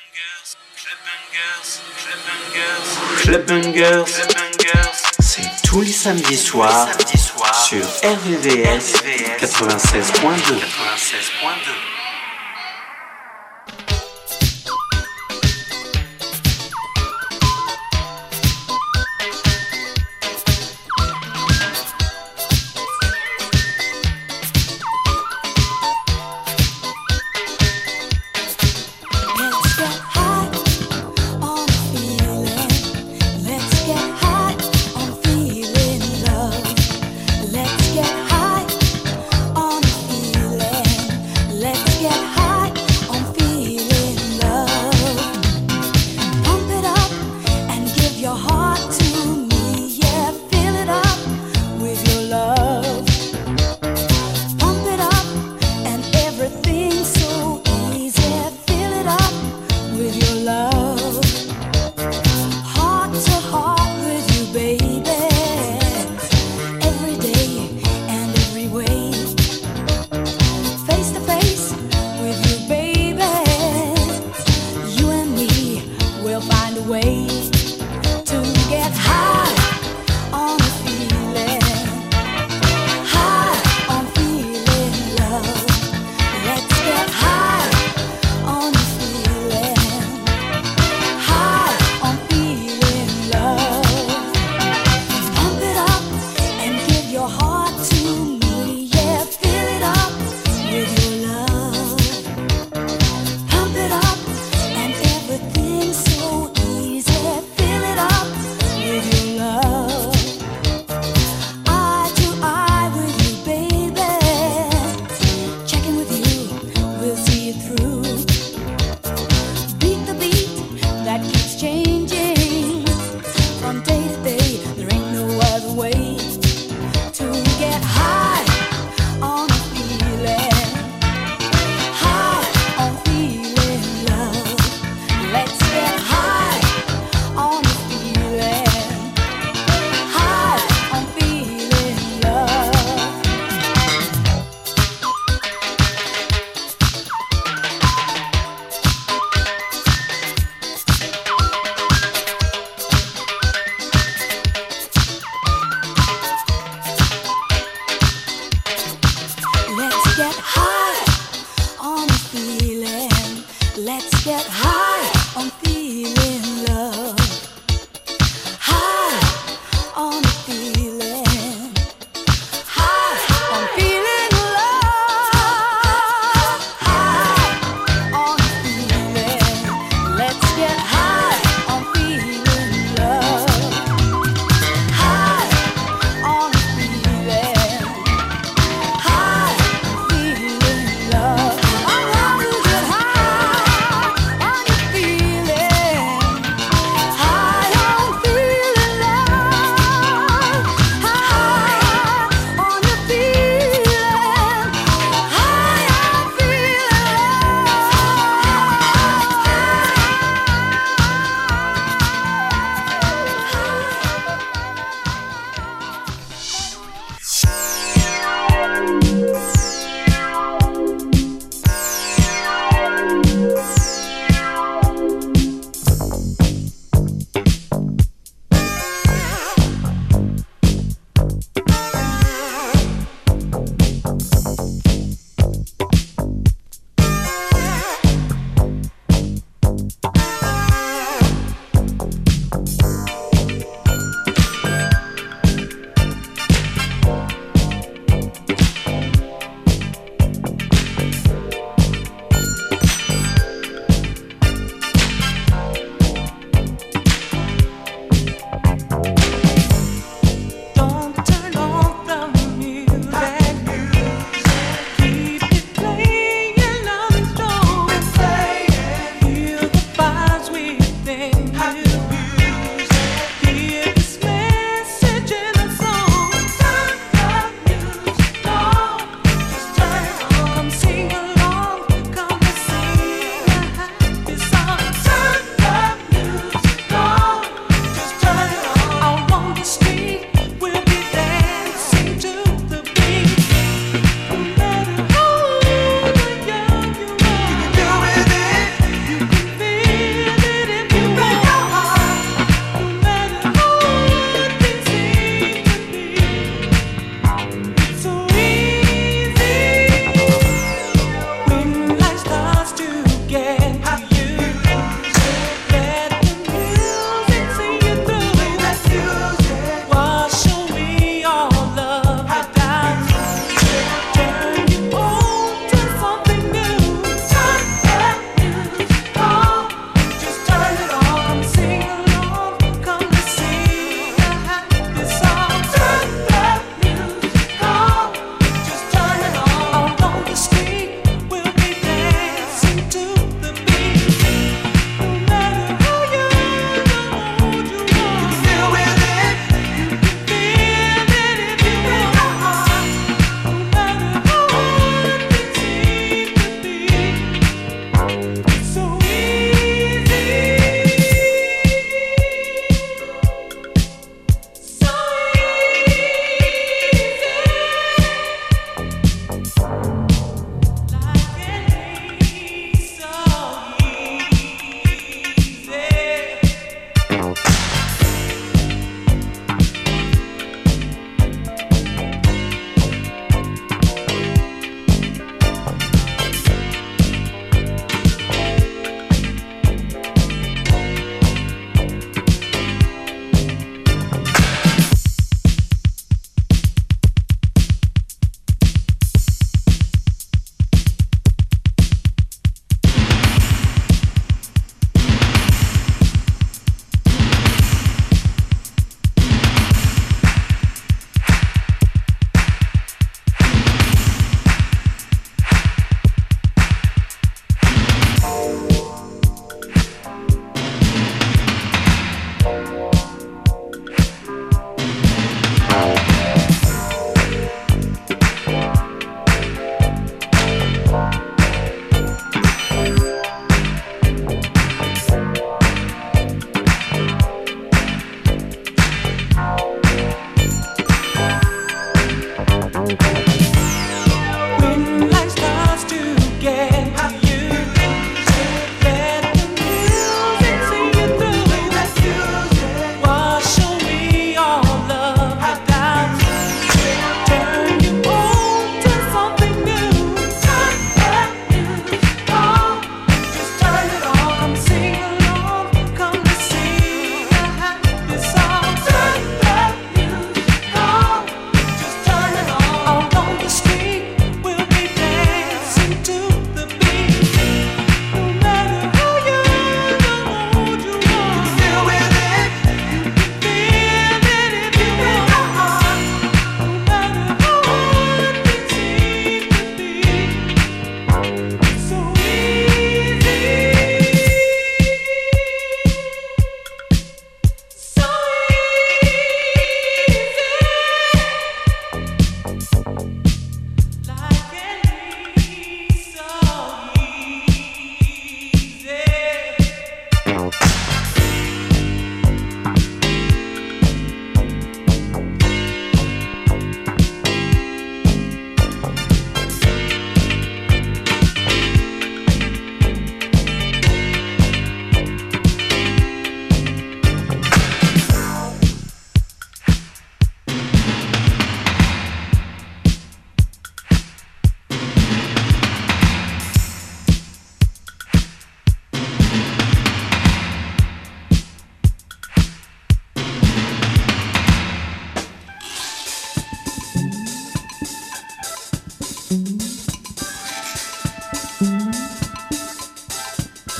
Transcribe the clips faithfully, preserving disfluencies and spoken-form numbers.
Club Bangers, c'est tous les samedis soirs sur R V V S quatre-vingt-seize point deux. Feel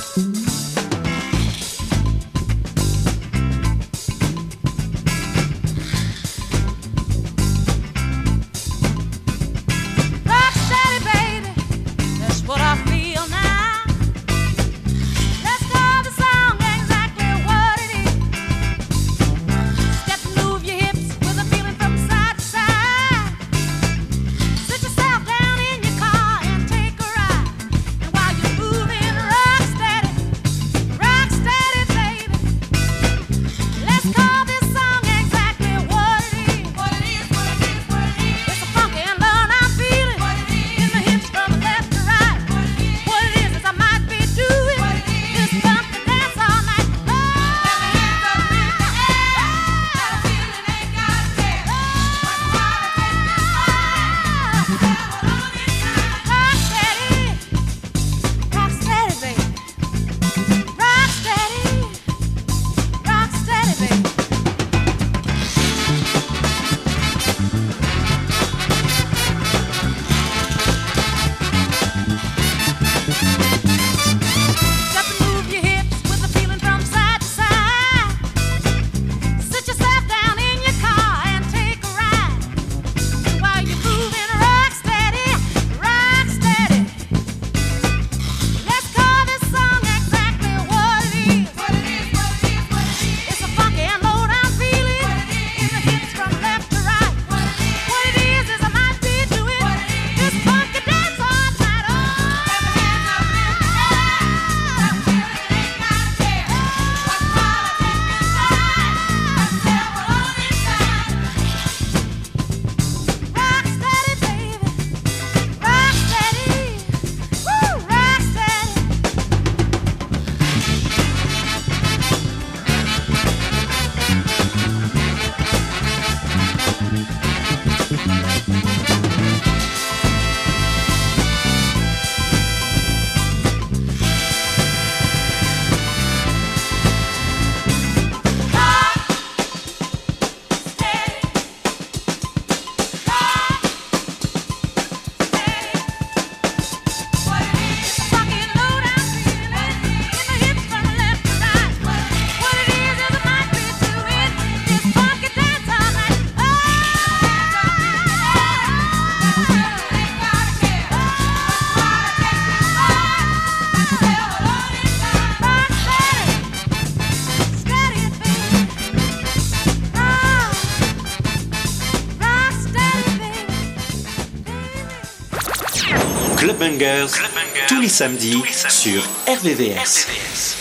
Club Bangers, Club Bangers tous les samedis, tous les samedis sur R V V S. R V V S.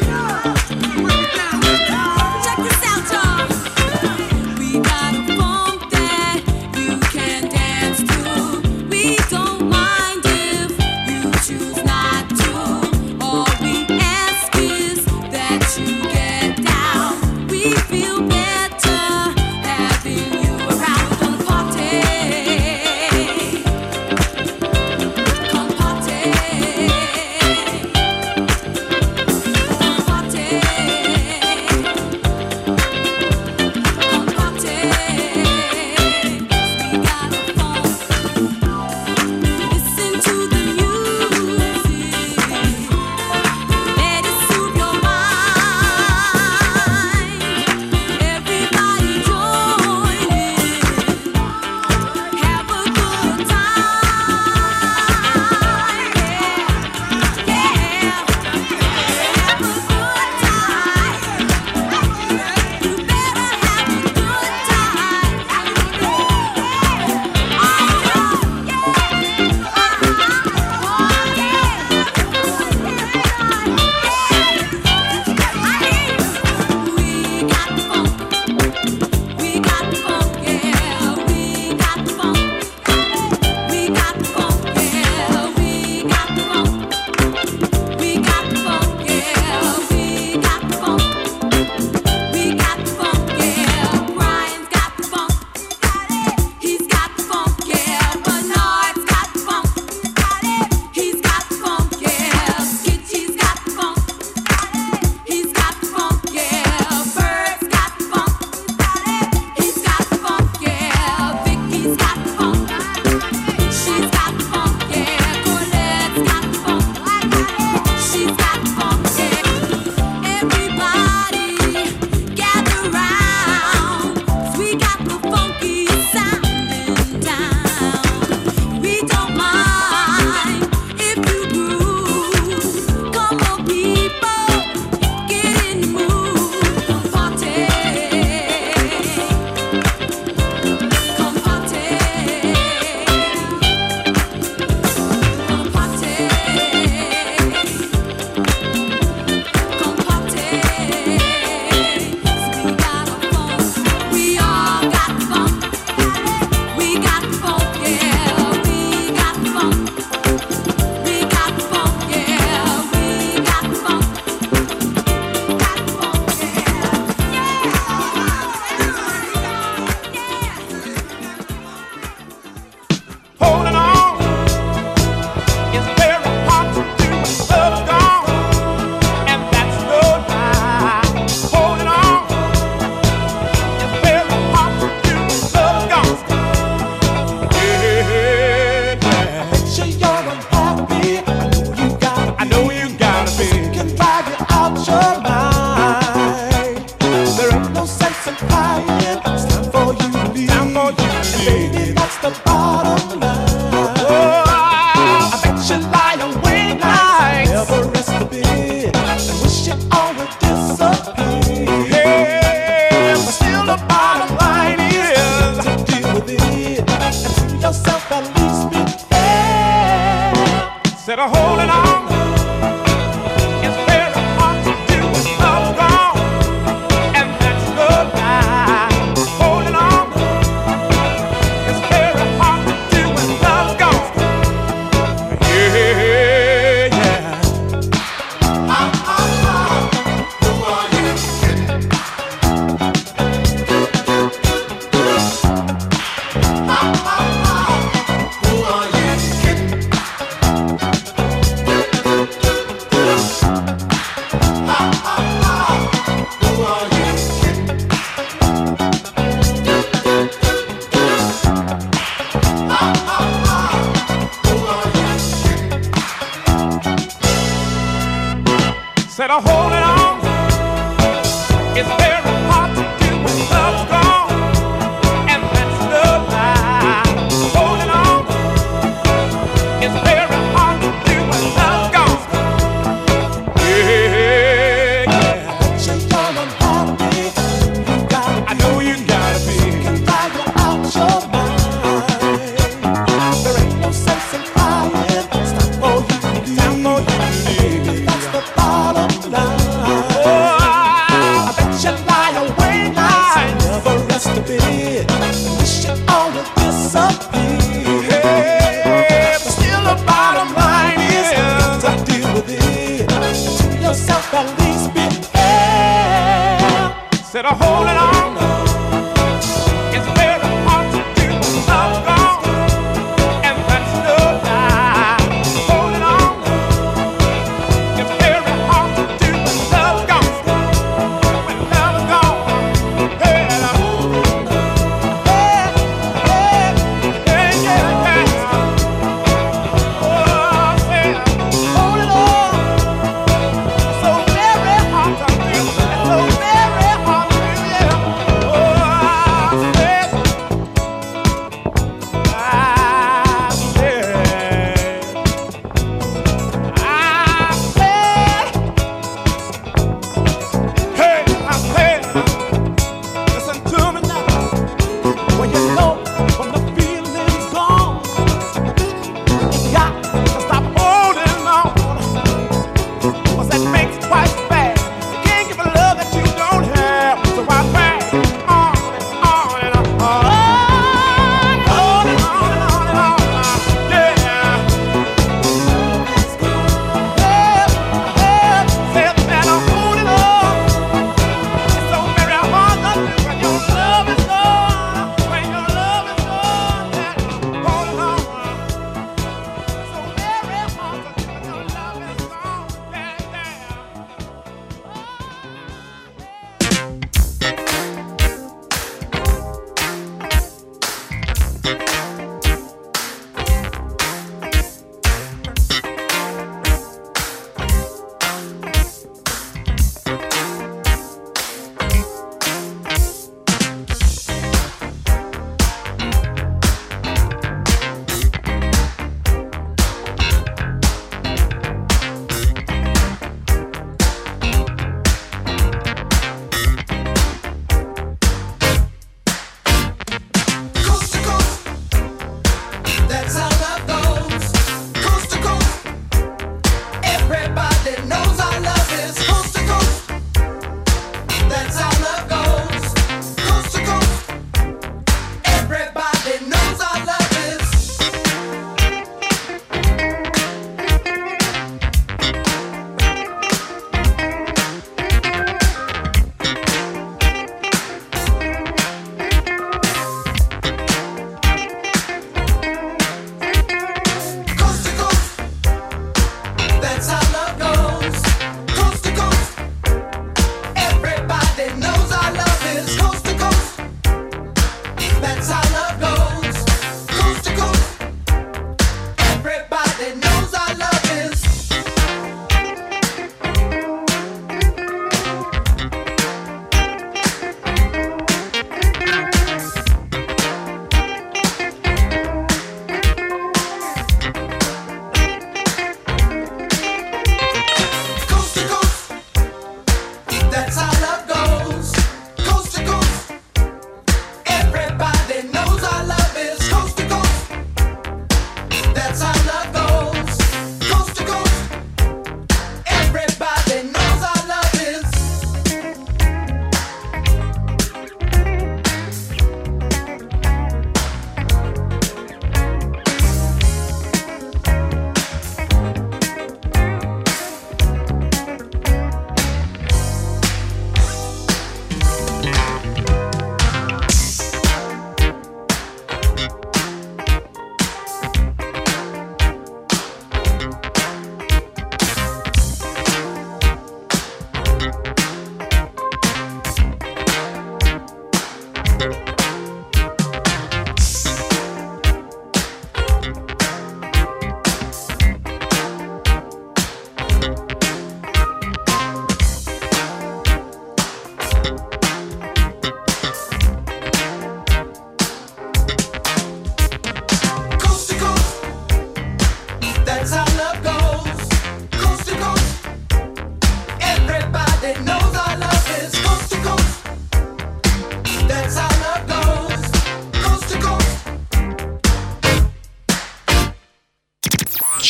Check this out, y'all. We got a phone.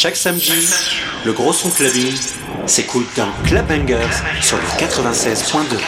Chaque samedi, le gros son clubbing s'écoute dans Club Bangers sur le quatre-vingt-seize point deux.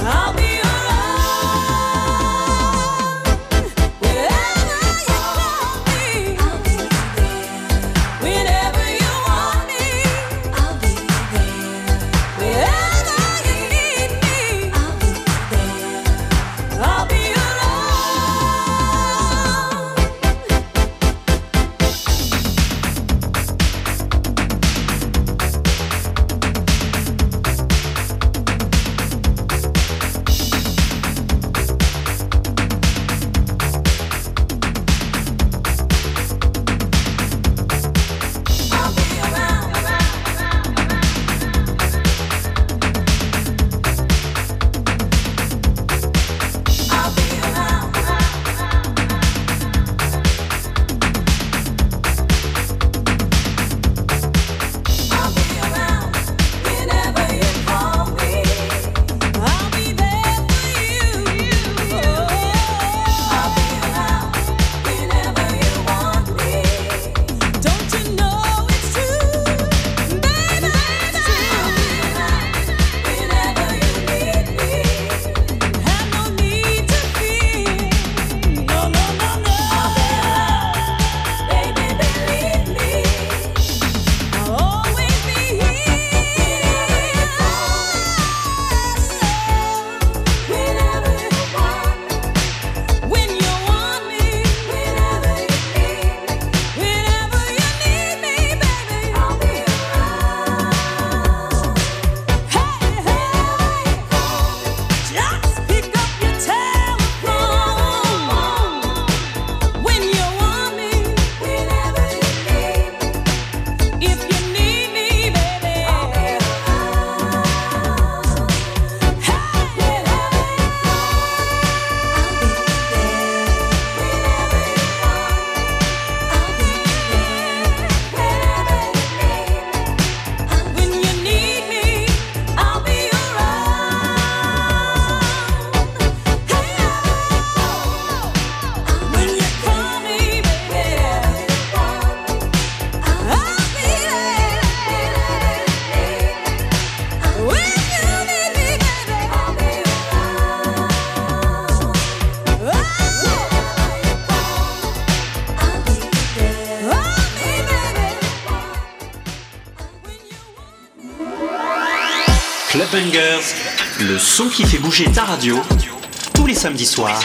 Club Bangers, le son qui fait bouger ta radio, tous les samedis soirs,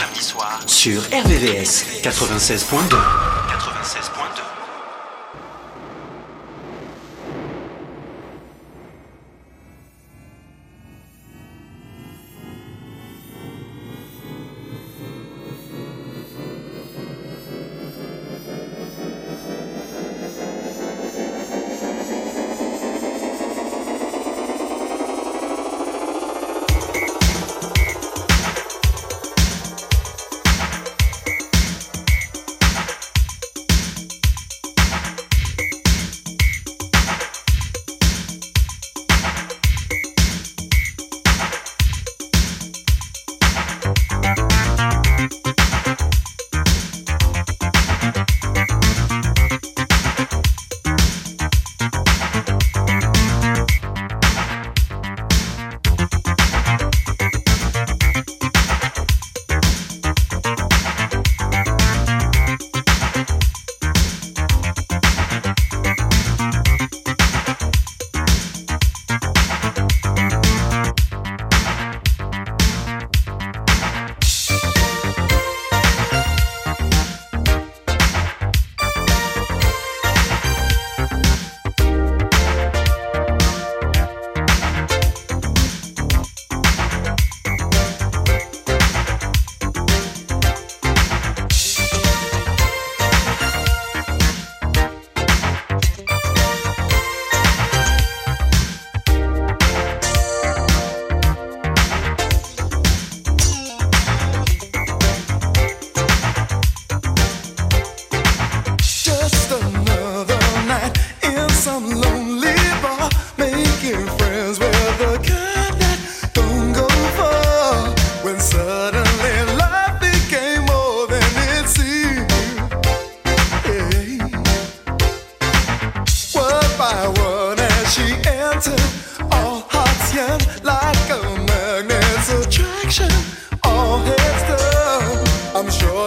sur R V V S quatre-vingt-seize point deux.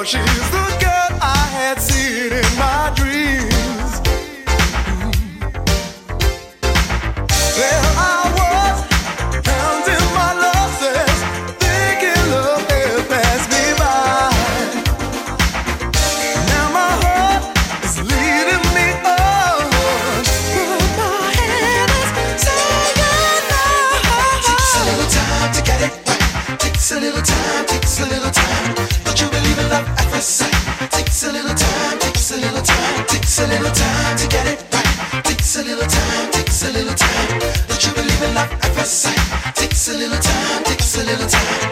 she's the girl I had seen in my dreams. There I was, counting my losses, thinking love had passed me by. Now my heart is leading me on, but my head is saying no. Takes a little time to get it right. Takes a little time, takes a little time. Don't you believe in love at first sight? Takes a little time, takes a little time, takes a little time to get it right. Takes a little time, takes a little time. Don't you believe in love at first sight? Takes a little time, takes a little time.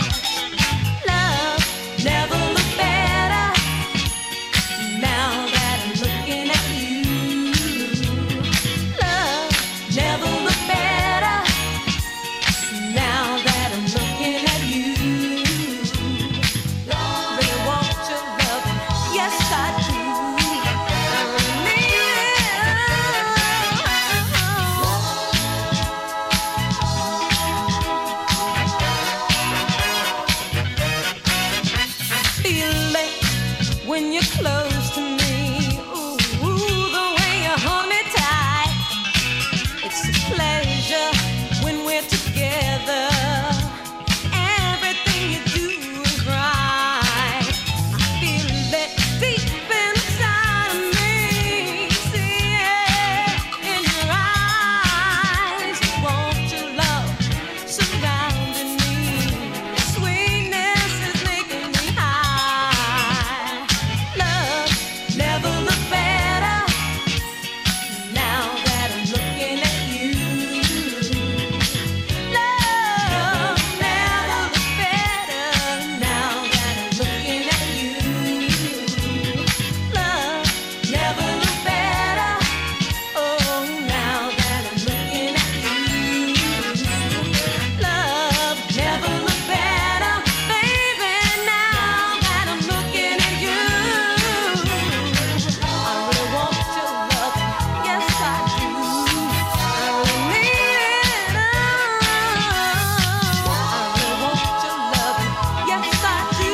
Now that when you're close to me. Ooh, the way you hold me tight. It's a pleasure when we're together. Everything you do is right. I feel it deep inside of me. See it in your eyes. Want your love surrounding me. Sweetness is making me high. Love never looked better. Now that I'm looking at you. Love never looked better. Now that I'm looking at you. Love never looked better. Oh, now that I'm looking at you. Love never looked better, baby. Now that I'm looking at you. I really want your love, yes I do. I really mean it. Oh, I really want your love, yes I do.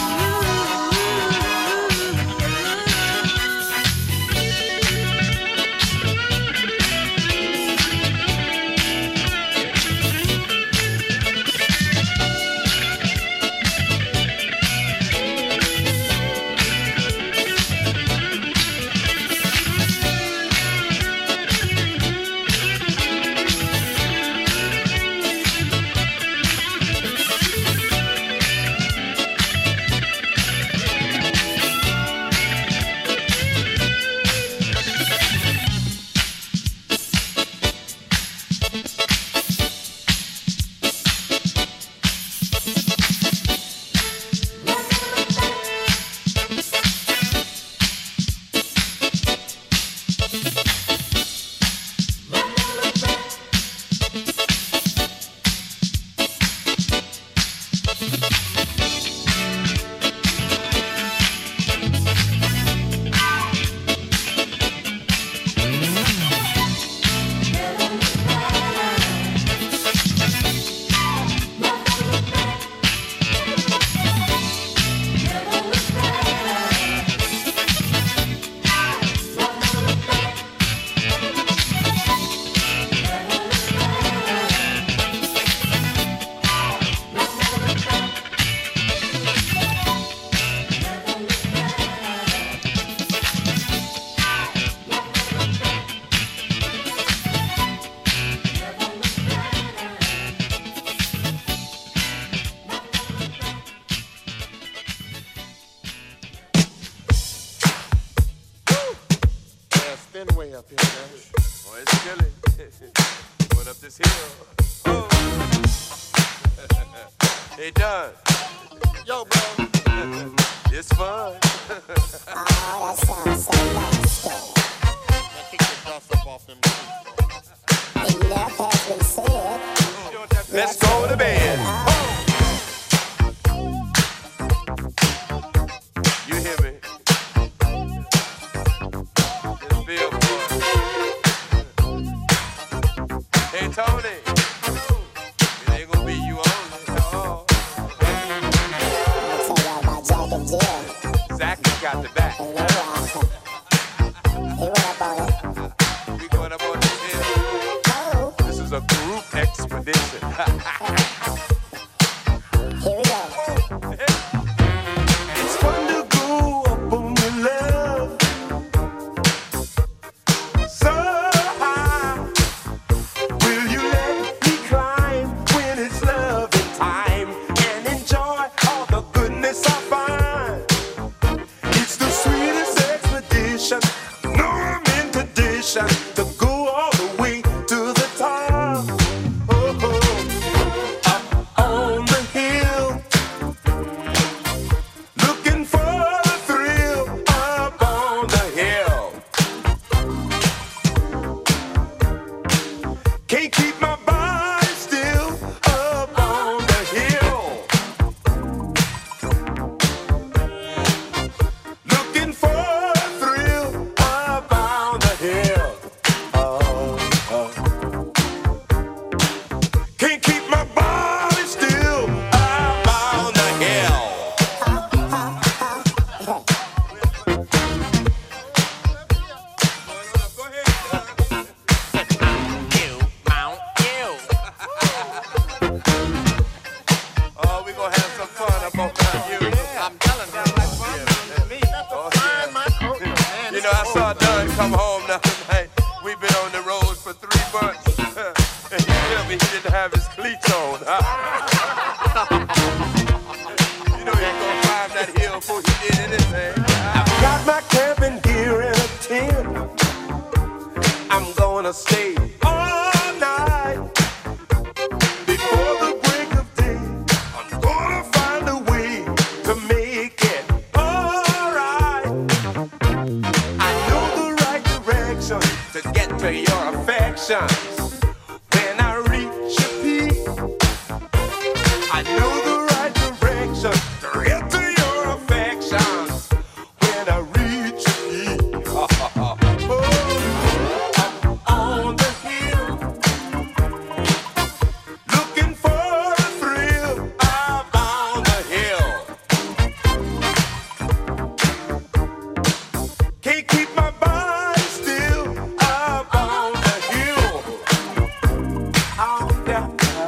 Yeah, spin way up here, man. Oh, it's chilly. Going up this hill. Oh. Hey, Don. Yo, bro. It's fun. Oh, that sounds so nasty. Now kick the dust up off them trees. Enough has been said. Let's go to bed. You hear me? Just feel fun. Hey, Tony. It ain't gonna be you only. Oh. I'll tell y'all about Jack and Jill. Zach has got the back. And they, uh, he went up on it. We going up on this hill. Oh, This is a group expedition. here we go. It's fun to go up on your love so high. Will you let me climb when it's loving time and enjoy all the goodness I find? It's the sweetest expedition. directions. When I reach a peak, I know the right direction to get to your affections. When I reach a peak, oh, I'm on the hill, looking for a thrill. I'm on the hill, can't keep my body still. I'm on the hill, on down,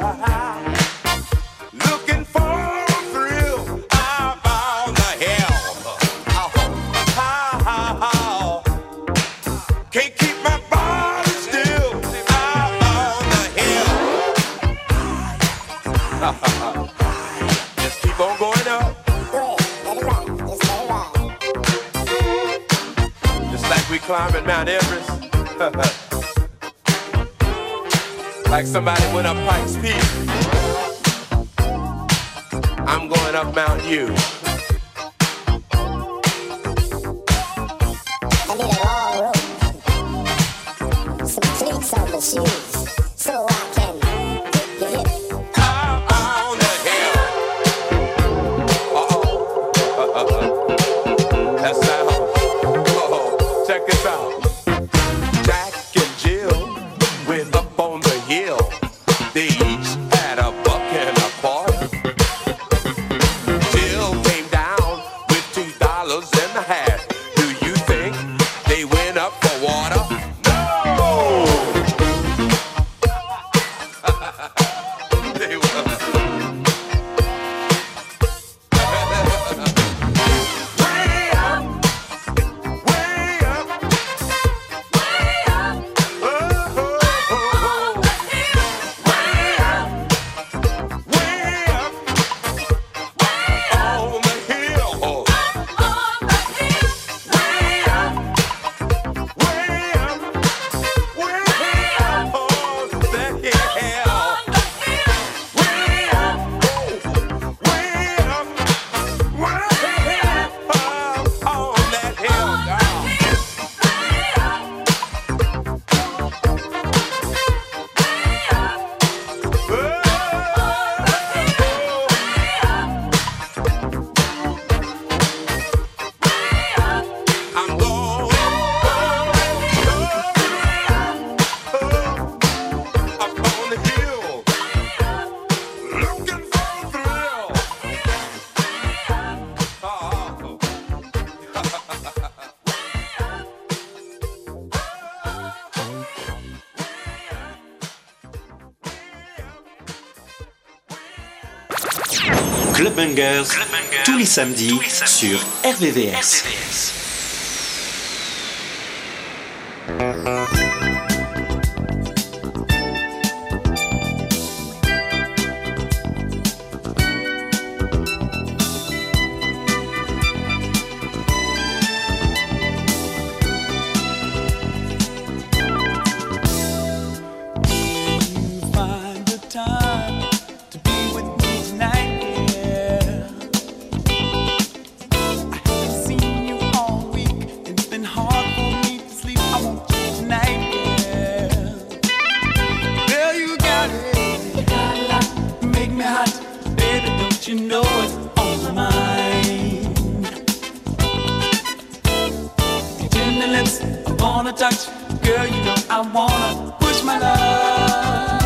looking for a thrill. I'm on the hill, oh, oh, oh. Can't keep my body still. I'm on the hill. Just keep on going up, Go ahead, let it ride, just let it ride. just like we climbing Mount Everest. Like somebody went up Pikes Peak. I'm going up Mount U. I need a long rope, some cleats on the shoes, so I can get your hip. I'm on the hill. Uh-oh. Uh-oh. That's sound. Uh-oh. Check this out. Jack and Jill went up on the hill. They each had a buck and a quarter. Jill came down with two dollars and a half. Do you think they went up for water? No! They were. Way up, way up, way up. Oh, oh, oh, oh. Way up, way up, on the hill. Oh. Way up, way up, way up on the hill. Way up, way up, way up on that hill, girl. I'm going up on the hill, looking for a thrill. Oh. Club Bangers, tous les samedis sur R V V S. Find the time to be with me tonight, yeah. I haven't seen you all week, and it's been hard for me to sleep. I want you tonight, yeah. Girl, you got it. You got a lot, you make me hot, baby. Don't you know it's on my mind? Your tender lips, I wanna touch. Girl, you know I wanna push my love.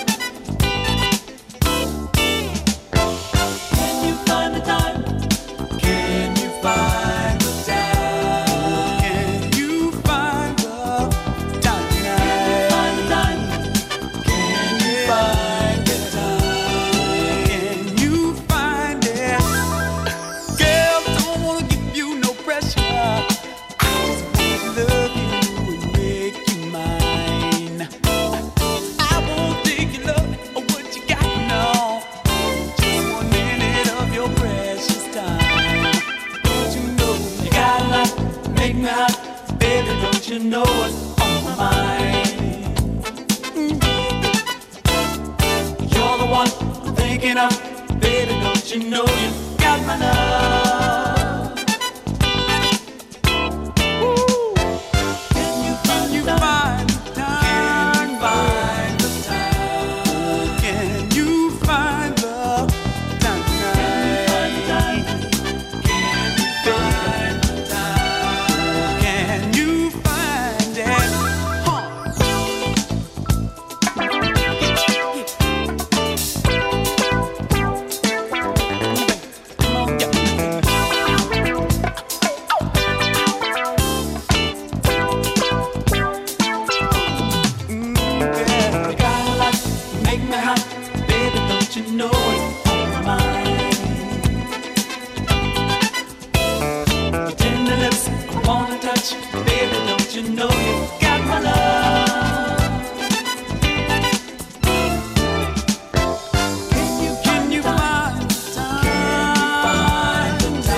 Can you find the time? Can you find the time? Can you find the time tonight? Can you find the time? Can you find it? Girl, don't wanna give you no pressure. I just wanna love you and make you mine. I won't take your love or what you got now. Just one minute of your precious time. Don't you know you got a lot, make me hot, baby. Don't you know what's on my mind? You're the one I'm thinking of, baby. Don't you know you got my love? Ooh. Can you find the time? Can you find touch, baby, don't you know you got my love? Can you, can you find the time?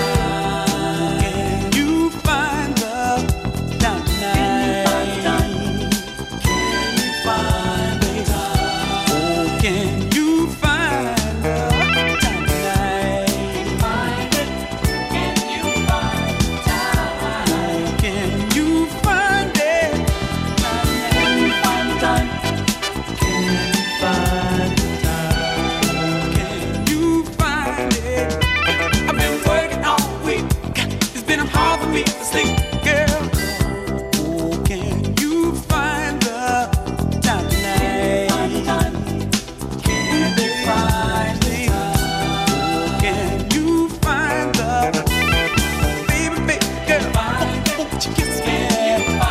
Can you find the time tonight? Can you find the time? Oh, can you find the time tonight? Find it. Can you find the time? Can you find it? Can you find the time? Can you find the time? Can you find it? I've been working all week. It's been hard for me to sleep, girl. Oh, can you find the time tonight? Can you find the time? Can you find the baby, baby girl? Won't you kiss me? Oh,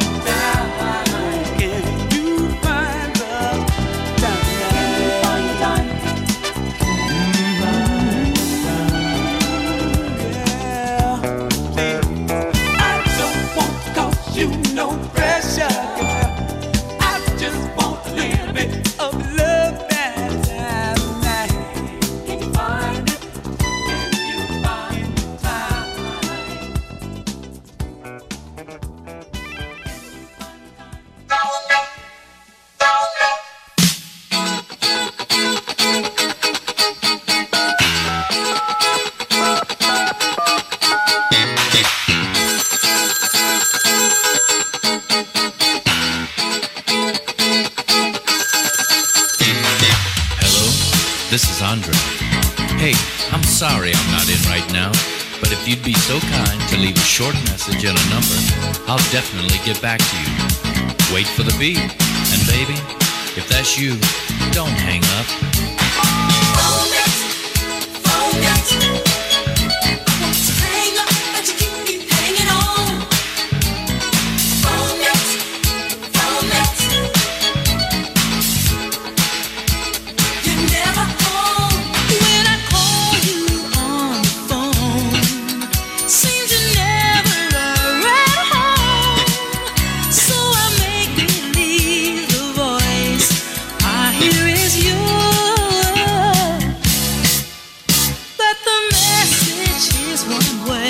can you find the time tonight? I don't want to cause you no pressure, girl. I just want a little bit of love that tonight. Can you find it? Can you find the time? Hello, this is Andre. Hey, I'm sorry I'm not in right now, but if you'd be so kind to leave a short message and a number, I'll definitely get back to you. Wait for the beep, and baby, if that's you, don't hang up. Phone it, phone it. I want to hang up, but you keep me hanging on. Phone it, phone it. You're never home when I call you on the phone. Seems you're never at home, so I make believe the voice I hear is yours. But the message is one way.